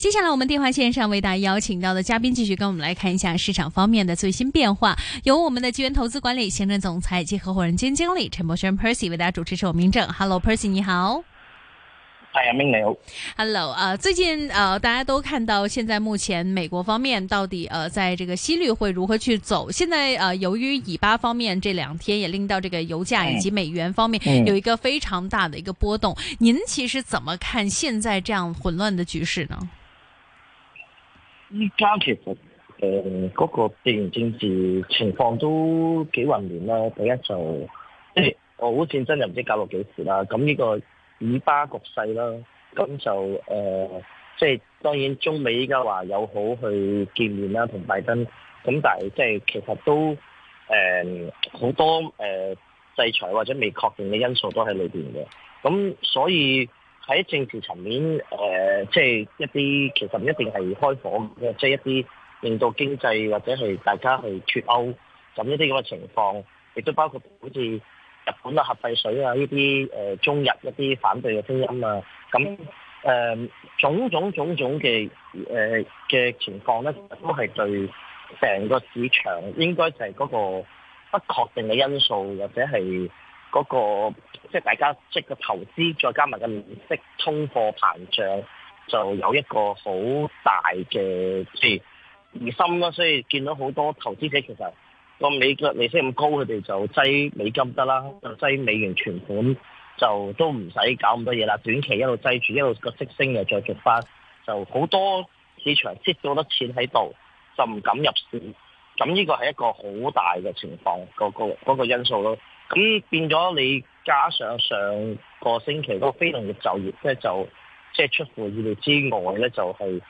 接下来我们電話線上為大家邀請到的嘉賓繼續跟我們來看一下市場方面的最新變化，由我們的基源投資管理行政總裁及合夥人兼經理陳柏軒 Percy 為大家主持，是我明正。Hello Percy 你好。 係啊，明你好。 Hello，最近大家都看到現在目前美國方面到底在這個息率會如何去走？現在由於以巴方面這2天也令到這個油價以及美元方面有一個非常大的一個波動，您其實怎麼看現在這樣混亂的局勢呢？ 依家其實嗰個地緣政治情況都幾混亂啦。第一就即係俄烏戰爭又唔知搞到幾時啦。咁呢個以巴局勢啦，咁就即係當然中美依家話友好去見面啦，同拜登。咁但係即係其實都好多制裁或者未確定嘅因素都喺裏邊嘅。咁所以喺政治層面，即係一啲其實唔一定係開火嘅，即係一啲令到經濟或者係大家去脱歐咁一啲咁嘅情況，亦都包括好似日本啊核廢水啊呢啲中日一啲反對嘅聲音啊，咁種種嘅情況咧，都係對成個市場應該就係嗰個不確定嘅因素，或者係嗰個即係大家即係個投資，再加埋個利息、通貨膨脹，就有一個好大嘅即係疑心啦。所以見到好多投資者其實個美國利息咁高，佢哋就擠美金得啦，就擠美元存款，就都唔使搞咁多嘢啦。短期一路擠住，一路個息升又再續翻，就好多市場積咗好多錢喺度，就唔敢入市。咁呢個係一個好大嘅情況，嗰個因素咯。咁變咗你加上上個星期嗰個非農業就業咧，即係出乎意料之外咧，就係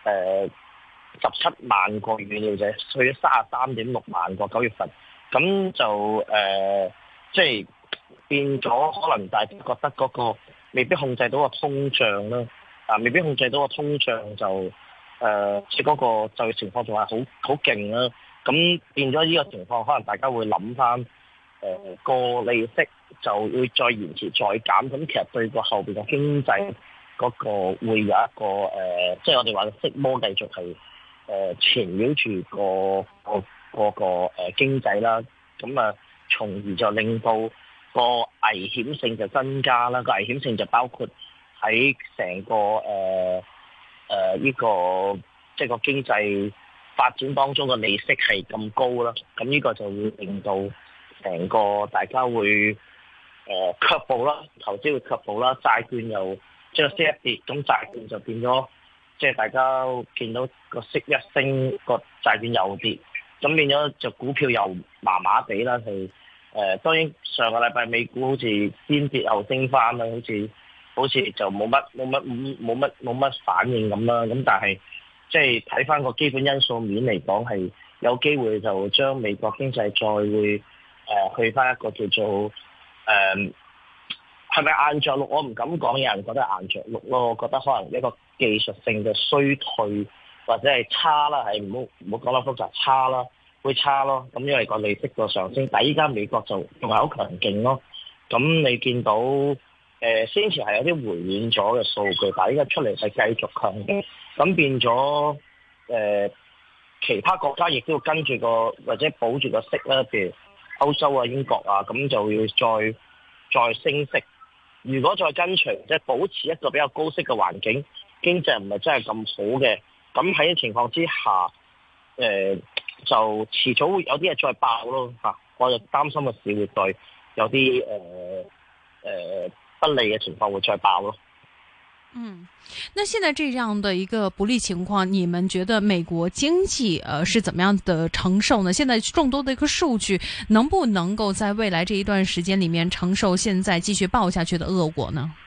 17萬個預料就去咗33.6萬個9月份，咁就即係變咗，可能大家覺得嗰個未必控制到個通脹啦，未必控制到個通脹就即係嗰個就業情況仲係好勁啦。咁變咗呢個情況，可能大家會諗翻。個利息就會再延遲再減，咁其實對個後邊嘅經濟嗰個會有一個即係我哋話息魔繼續係纏繞住個經濟啦，咁啊從而就令到個危險性就增加啦。個危險性就包括喺成個呢個即係個經濟發展當中嘅利息係咁高啦，咁呢個就會令到成個大家會卻步啦，投資會卻步啦，債券又即係息一跌，咁債券就變咗，即係大家見到個息一升，個債券又跌，咁變咗就股票又麻麻地啦。係當然上個禮拜美股好似先跌後升翻啦，好似就冇乜反應咁啦。咁但係即係睇翻個基本因素面嚟講，係有機會就將美國經濟再會去翻一個叫做係咪硬着陸？我唔敢講，有人覺得硬着陸咯。我覺得可能一個技術性嘅衰退或者係差啦，係唔好講得複雜，差啦，會差咯。咁因為個利息個上升，但係依家美國就仲係好強勁咯。咁你見到先前係有啲回軟咗嘅數據，但係依家出嚟係繼續強勁，咁變咗其他國家亦都要跟住個或者保住個息啦，譬如歐洲啊、英國啊，咁就要再升息。如果再跟隨，即係保持一個比較高息嘅環境，經濟唔係真係咁好嘅，咁喺情況之下，就遲早會有啲嘢再爆咯嚇。我就擔心個市會再有啲不利嘅情況會再爆咯。 那現在這樣的一個不利情況，你們覺得美國經濟是怎麼樣的承受呢？現在眾多的一個數據，能不能夠在未來這一段時間裏面承受現在繼續爆下去的惡果呢？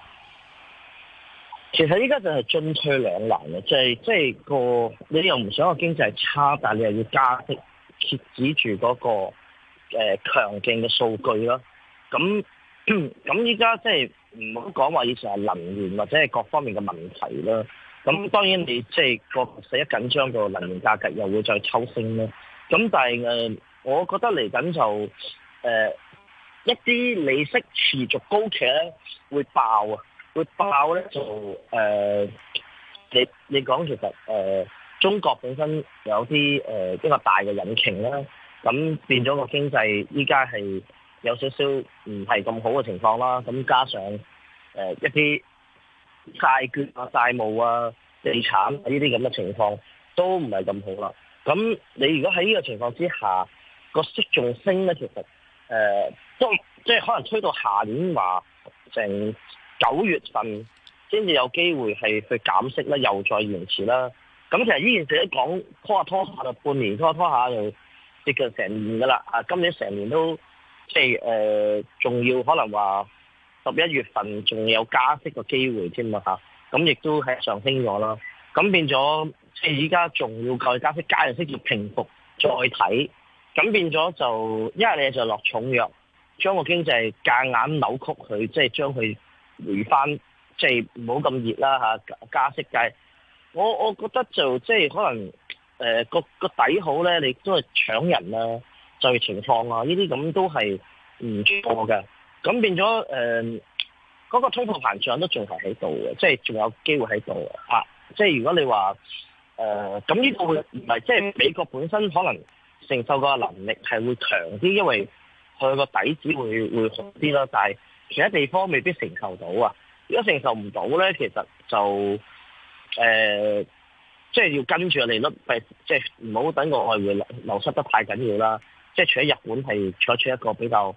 其實依家就係進退兩難嘅，即係個你又唔想個經濟差，但係你又要加息，遏止住嗰個強勁嘅數據啦。咁依家即係唔好講話以前係能源或者係各方面嘅問題啦。咁當然你即係個勢一緊張，個能源價格又會再抽升啦。咁但係我覺得嚟緊就一啲利息持續高企咧會爆啊！會爆咧就你講其實中國本身有啲一個大嘅引擎啦，咁變咗個經濟依家係有少少唔係咁好嘅情況啦，咁加上一啲債券啊、債務啊、地產呢啲咁嘅情況都唔係咁好啦。咁你如果喺呢個情況之下，個息仲升咧，其實都即係可能推到下年話成9月份先至有機會係去減息啦，又再延遲啦。咁其實呢件事一講拖下就半年，拖下就接近成年噶啦。今年成年都即係仲要可能話11月份仲有加息嘅機會添啊嚇。咁亦都係上升咗啦。咁變咗即係依家仲要再加息，加完息要平復再睇。咁變咗就一係你就落重藥，將個經濟夾硬扭曲佢，即係將佢回翻，即係唔好咁熱啦嚇，加息計。我覺得就即係可能個底好咧，你都係搶人啊，就業情況啊，呢啲咁都係唔錯嘅。咁變咗嗰個通貨膨脹都仲係喺度嘅，即係仲有機會喺度嘅。即係如果你話咁呢個會唔係即係美國本身可能承受個能力係會強啲，因為佢個底子會好啲啦。但係其他地方未必承受到啊。如果承受唔到咧，其實就即係要跟住個利率，即係唔好等個外匯流失得太緊要啦。即係除咗日本係採取一個比較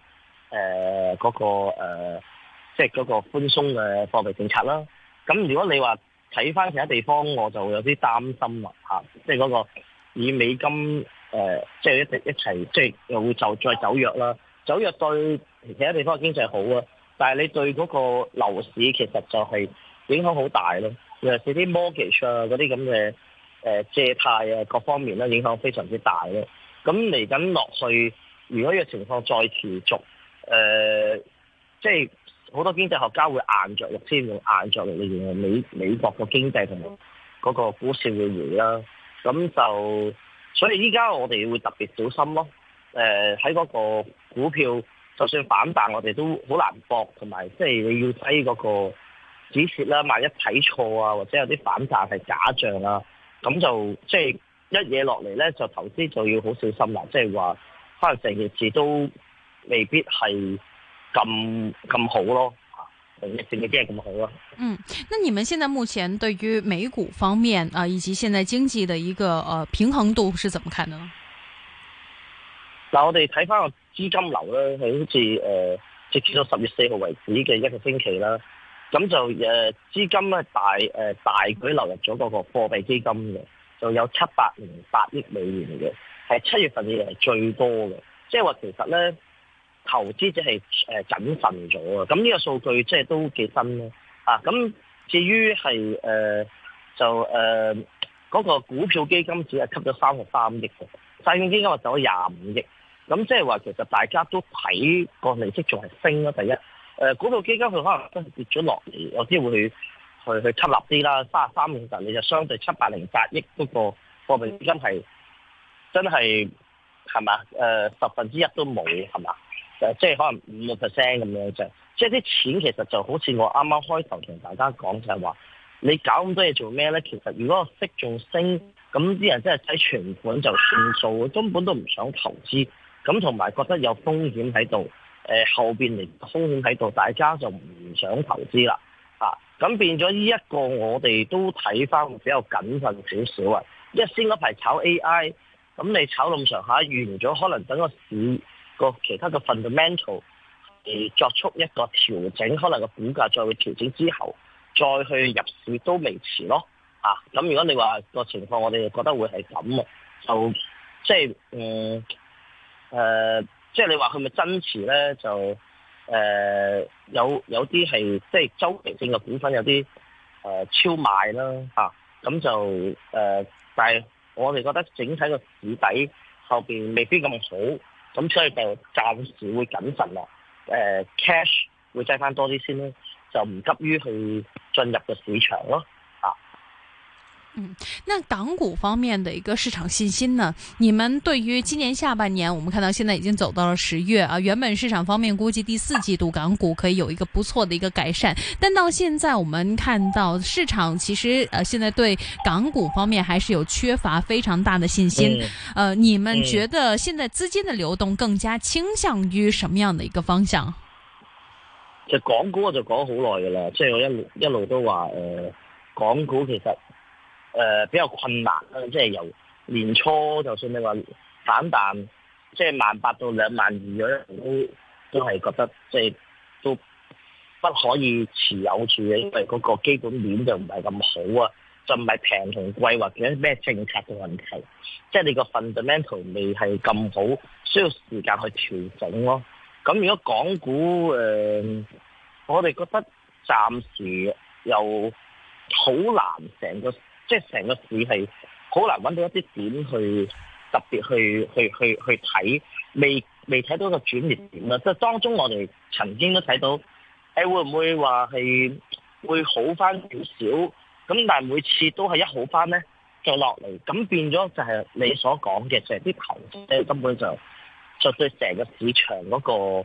即係嗰個寬鬆嘅貨幣政策啦。咁如果你話睇翻其他地方，我就有啲擔心啦嚇。即係嗰個以美金即係一齊，即係又會再走弱啦。走弱對其他地方嘅經濟好啊，但係你對嗰個樓市其實就係影響好大咯。尤其是啲 mortgage 啊嗰啲咁嘅借貸啊各方面咧影響非常之大咯。咁嚟緊落去，如果呢個情況再持續，即係好多經濟學家會硬着陸先，用硬着陸嚟形容美國個經濟同埋嗰個股市會回啦。咁就所以依家我哋會特別小心咯。喺嗰個股票就算反彈，我哋都好難搏，同埋即係你要睇嗰個止蝕啦。萬一睇錯啊，或者有啲反彈係假象啊，咁就即係一嘢落嚟咧，就投資就要好小心啦。即係話可能成件事都未必係咁好咯。成件事未必係咁好咯。 那你們現在目前對於美股方面啊，以及現在經濟的一個平衡度是怎麼看的呢？ 嗱，我哋睇翻個資金流咧，係好似直至到10月4號為止嘅一個星期啦。咁就資金咧大舉流入咗嗰個貨幣基金嘅，就有708億美元嘅，係7月份以嚟係最多嘅。即係話其實咧，投資者係謹慎咗啊。咁呢個數據即係都幾新咯。咁至於係嗰個股票基金只係吸咗33億嘅，債券基金就走咗25億。咁即係話其實大家都睇個利息仲係升咯。第一，股票基金佢可能真係跌咗落嚟，有啲會去吸納啲啦。33億其實你就相對708億嗰個貨幣基金係真係嘛1/10都冇係嘛？即係可能5%咁樣啫。即係啲錢其實就好似我啱啱開頭同大家講就係話，你搞咁多嘢做咩咧？其實如果個息仲升，咁啲人真係睇存款就算數，根本都唔想投資。咁同埋覺得有風險喺度，後邊嚟風險喺度，大家就唔想投資啦。咁變咗呢一個我哋都睇翻比較謹慎少少啊。因為先嗰排炒 AI，咁你炒咁上下完咗，可能等個市個其他嘅 fundamental 作出一個調整，可能個股價再會調整之後，再去入市都未遲咯。咁如果你話個情況，我哋就覺得會係咁啊，就即係即係你話佢咪增持咧？就有啲係即係周期性嘅股份有啲超賣啦。咁就但係我哋覺得整體個市底後邊未必咁好，咁所以就暫時會謹慎啦。cash 會擠翻多啲先咯，就唔急於去進入個市場咯。 那港股方面的一個市場信心呢？你們對於今年下半年，我們看到現在已經走到了10月啊，原本市場方面估計第4季度港股可以有一個不錯的一個改善，但到現在我們看到市場其實現在對港股方面還是有缺乏非常大的信心。你們覺得現在資金的流動更加傾向於什麼樣的一個方向？ 就港股我就講好耐噶啦，即係我一路都話港股其實比較困難啦，即係由年初就算你話反彈，即係18,000到22,000嗰都係覺得即係都不可以持有住嘅，因為嗰個基本面就唔係咁好啊，就唔係平同貴或者咩政策嘅問題，即係你個 fundamental 未係咁好，需要時間去調整咯。咁如果港股我哋覺得暫時又好難成個市係好難揾到一啲點去特別去睇，未睇到一個轉捩點啦。即係當中我哋曾經都睇到，會唔會話係會好翻少少？咁但係每次都係一好翻咧，就落嚟，咁變咗就係你所講嘅，就係啲投資者根本就對成個市場嗰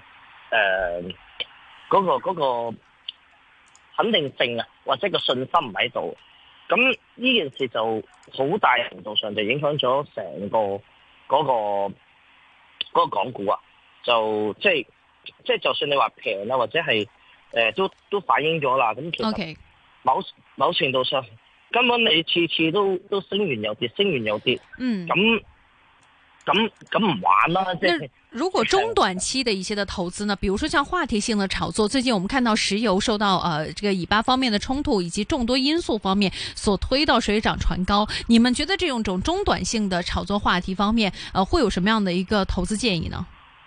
個肯定性啊，或者個信心唔喺度。咁呢件事就好大程度上就影響咗成個嗰個港股啊，就即係就算你話平啦，或者係都反映咗啦。咁其實某程度上根本你次次都升完又跌，升完又跌。咁唔玩啦，即係。 如果中短期的一些的投資呢，比如說像話題性的炒作，最近我們看到石油受到這個以巴方面的衝突以及眾多因素方面所推到水漲船高，你們覺得這種中短性的炒作話題方面，會有什麼樣的一個投資建議呢？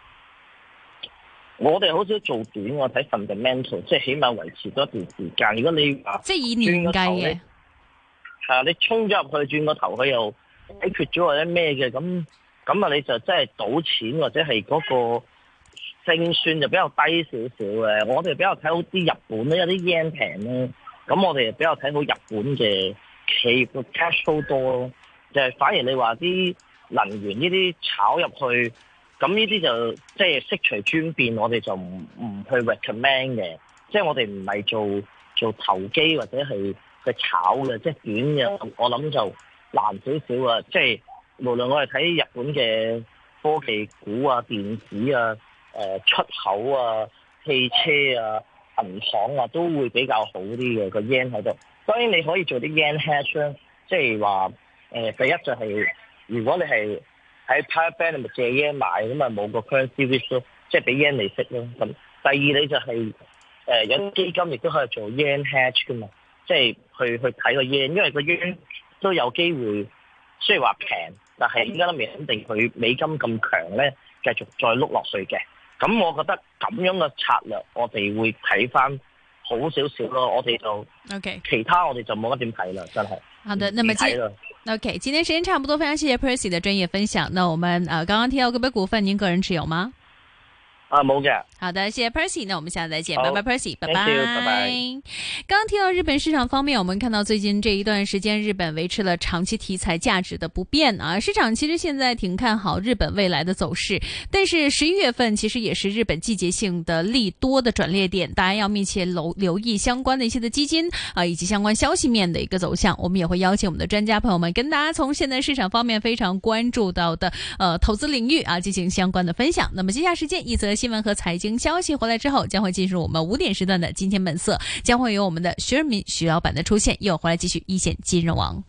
我哋好少做短，我睇 fundamental， 即係起碼維持多一段時間。如果你即係以年計嘅， 係啊，你衝咗入去轉個頭，佢又解決咗或者咩嘅咁啊，你就真係賭錢或者係嗰個勝算就比較低少少嘅。我哋比較睇好啲日本咧，有啲 yen 平咧，咁我哋比較睇好日本嘅企業個 cash flow 多咯。就係反而你話啲能源呢啲炒入去，咁呢啲就即係悉隨尊便，我哋就唔去 recommend 嘅。即係我哋唔係做投機或者係去炒嘅，即係短嘅，我諗就難少少啊。即係無論我哋睇日本嘅科技股啊、電子啊、出口啊、汽車啊、銀行啊，都會比較好啲嘅個 yen 喺度。當然你可以做啲 yen hedge 啦，即係話第一就係如果你係喺 power bank 咪借 yen 買，咁啊冇個 currency risk 咯，即係俾 yen 利息咯。咁第二你就係有啲基金亦都可以做 yen hedge 噶嘛，即係去睇個 yen，因為個 yen 都有機會雖然話平，但係依家都未肯定佢美金咁強咧，繼續再碌落去嘅。咁我覺得咁樣嘅策略，我哋會睇翻好少少咯。我哋就 OK， 其他我哋就冇乜點睇啦，真係。 好的，那麼OK， 今天時間差不多，非常謝謝 Percy 的專業分享。那我們剛剛提到個別股份，您個人持有嗎？ 冇嘅。 好的，謝謝 Percy， 那我們下次再見，拜拜 Percy， 拜拜。 拜拜。 剛剛提到日本市場方面，我們看到最近這一段時間，日本維持了長期題材價值的不變啊。市場其實現在挺看好日本未來的走勢，但是11月份其實也是日本季節性的利多的轉捩點，大家要密切留意相關的一些的基金啊，以及相關消息面的一個走向。我們也會邀請我們的專家朋友們跟大家從現在市場方面非常關注到的投資領域啊進行相關的分享。那麼接下來時間一則新聞和財經消息回來之後，將會進入我們5點時段的金錢本色，將會有我們的徐潤民徐老闆的出現，又回來繼續一線金融網。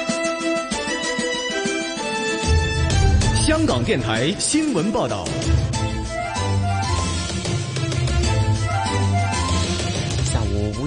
香港電台新聞報道。